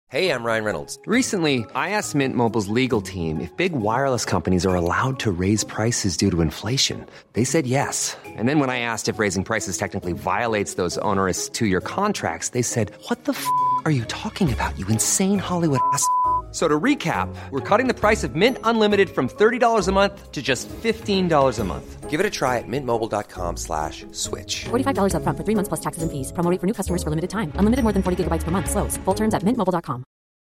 Hey, I'm Ryan Reynolds. Recently, I asked Mint Mobile's legal team if big wireless companies are allowed to raise prices due to inflation. They said yes. And then when I asked if raising prices technically violates those onerous two-year contracts, they said, "What the f*** are you talking about, you insane Hollywood ass?" So to recap, we're cutting the price of Mint Unlimited from $30 a month to just $15 a month. Give it a try at mintmobile.com/switch. $45 up front for 3 months plus taxes and fees. Promo rate for new customers for limited time. Unlimited more than 40 gigabytes per month. Slows full terms at mintmobile.com.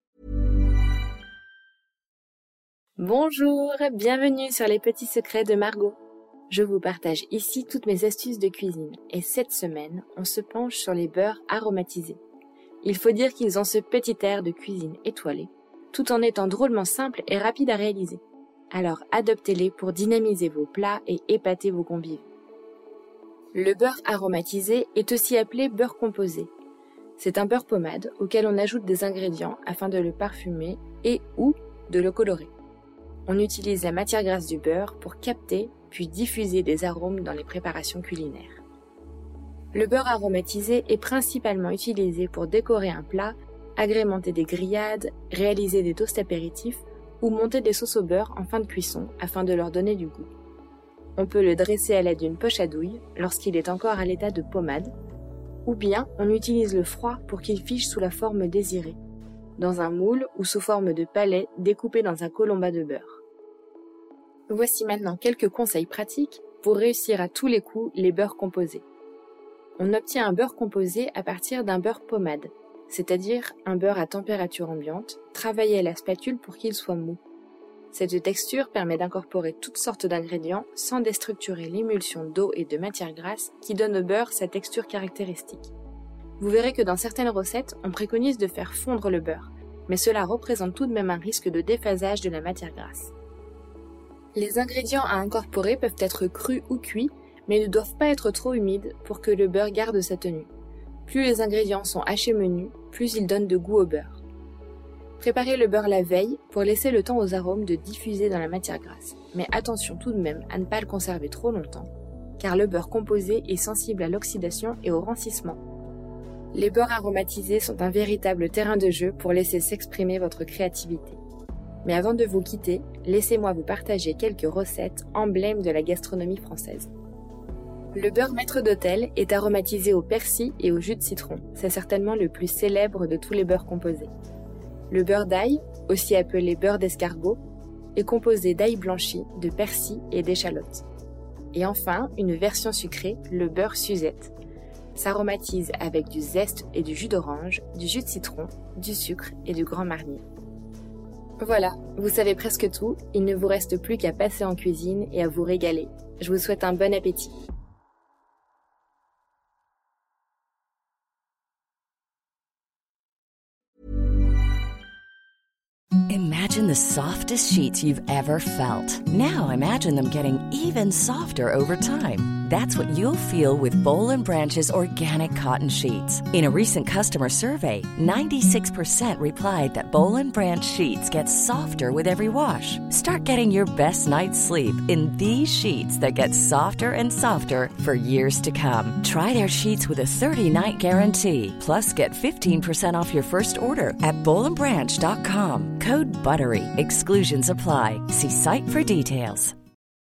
Bonjour, bienvenue sur les petits secrets de Margot. Je vous partage ici toutes mes astuces de cuisine et cette semaine, on se penche sur les beurres aromatisés. Il faut dire qu'ils ont ce petit air de cuisine étoilée, tout en étant drôlement simples et rapides à réaliser. Alors adoptez-les pour dynamiser vos plats et épater vos convives. Le beurre aromatisé est aussi appelé beurre composé. C'est un beurre pommade auquel on ajoute des ingrédients afin de le parfumer et ou de le colorer. On utilise la matière grasse du beurre pour capter puis diffuser des arômes dans les préparations culinaires. Le beurre aromatisé est principalement utilisé pour décorer un plat, agrémenter des grillades, réaliser des toasts apéritifs ou monter des sauces au beurre en fin de cuisson afin de leur donner du goût. On peut le dresser à l'aide d'une poche à douille lorsqu'il est encore à l'état de pommade, ou bien on utilise le froid pour qu'il fiche sous la forme désirée, dans un moule ou sous forme de palais découpé dans un colombat de beurre. Voici maintenant quelques conseils pratiques pour réussir à tous les coups les beurres composés. On obtient un beurre composé à partir d'un beurre pommade, c'est-à-dire un beurre à température ambiante, travaillé à la spatule pour qu'il soit mou. Cette texture permet d'incorporer toutes sortes d'ingrédients sans déstructurer l'émulsion d'eau et de matière grasse qui donne au beurre sa texture caractéristique. Vous verrez que dans certaines recettes, on préconise de faire fondre le beurre, mais cela représente tout de même un risque de déphasage de la matière grasse. Les ingrédients à incorporer peuvent être crus ou cuits, mais ne doivent pas être trop humides pour que le beurre garde sa tenue. Plus les ingrédients sont hachés menus, plus ils donnent de goût au beurre. Préparez le beurre la veille pour laisser le temps aux arômes de diffuser dans la matière grasse. Mais attention tout de même à ne pas le conserver trop longtemps, car le beurre composé est sensible à l'oxydation et au rancissement. Les beurres aromatisés sont un véritable terrain de jeu pour laisser s'exprimer votre créativité. Mais avant de vous quitter, laissez-moi vous partager quelques recettes emblèmes de la gastronomie française. Le beurre maître d'hôtel est aromatisé au persil et au jus de citron. C'est certainement le plus célèbre de tous les beurres composés. Le beurre d'ail, aussi appelé beurre d'escargot, est composé d'ail blanchi, de persil et d'échalotes. Et enfin, une version sucrée, le beurre Suzette, s'aromatise avec du zeste et du jus d'orange, du jus de citron, du sucre et du grand marnier. Voilà, vous savez presque tout, il ne vous reste plus qu'à passer en cuisine et à vous régaler. Je vous souhaite un bon appétit. Imagine the softest sheets you've ever felt. Now imagine them getting even softer over time. That's what you'll feel with Boll & Branch's organic cotton sheets. In a recent customer survey, 96% replied that Boll & Branch sheets get softer with every wash. Start getting your best night's sleep in these sheets that get softer and softer for years to come. Try their sheets with a 30-night guarantee. Plus, get 15% off your first order at bollandbranch.com. Code BUTTERY. Exclusions apply. See site for details.